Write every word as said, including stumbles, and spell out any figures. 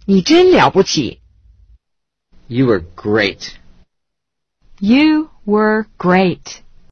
你真了不起。 You were great. You were great.